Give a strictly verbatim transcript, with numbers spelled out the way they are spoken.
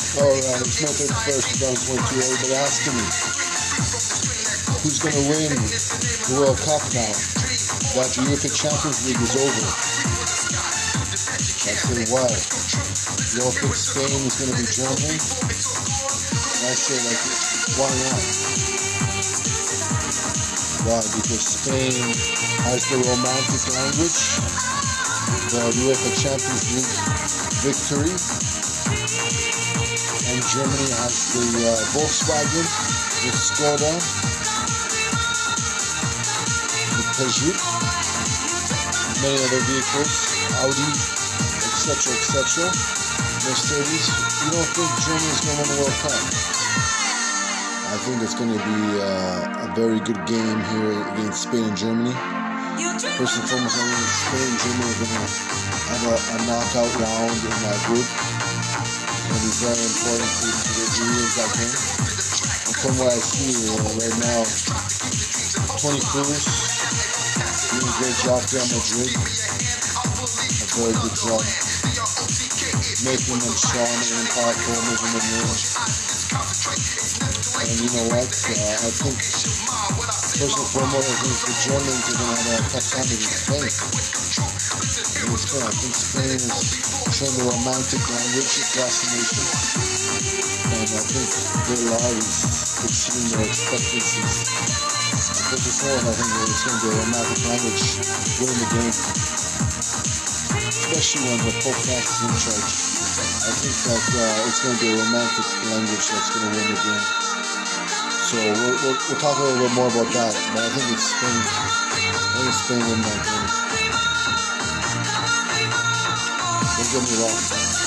Alright, it's my thirty-first, twenty twenty-two. Everybody asking me who's going to win the World Cup now that the European Champions League is over. I say why? You all think Spain is going to be Germany? And I say like, why not? Why? Because Spain has the romantic language, the UEFA Champions League victory, and Germany has the uh, Volkswagen, the Skoda, the Peugeot, many other vehicles, Audi, et cetera, et cetera. Mercedes. You don't think Germany's going to win the World Cup? I think it's going to be uh, a very good game here against Spain and Germany. First and foremost, I think Spain and Germany are going to have a, a knockout round in that group. It's going to be very important to, to the Europeans, I think. And from what I see uh, right now, Toni Kroos doing a great job here at Madrid. A very good job. Making them strong, making them powerful, making them win. And you know what? Uh, I think, first and foremost, I think the Germans are going to have a tough time against Spain. Against Spain. I think Spain is showing the romantic language across the nation. And I think their love is exceeding their expectancies. And first and foremost, I think it's going to be a romantic language winning the game. Especially when the Pope Francis is in charge. I think that uh, it's going to be a romantic language that's going to win the game. So we'll, we'll, we'll talk a little bit more about that. But I think it's Spain. I think it's Spain win that game. Don't get me wrong.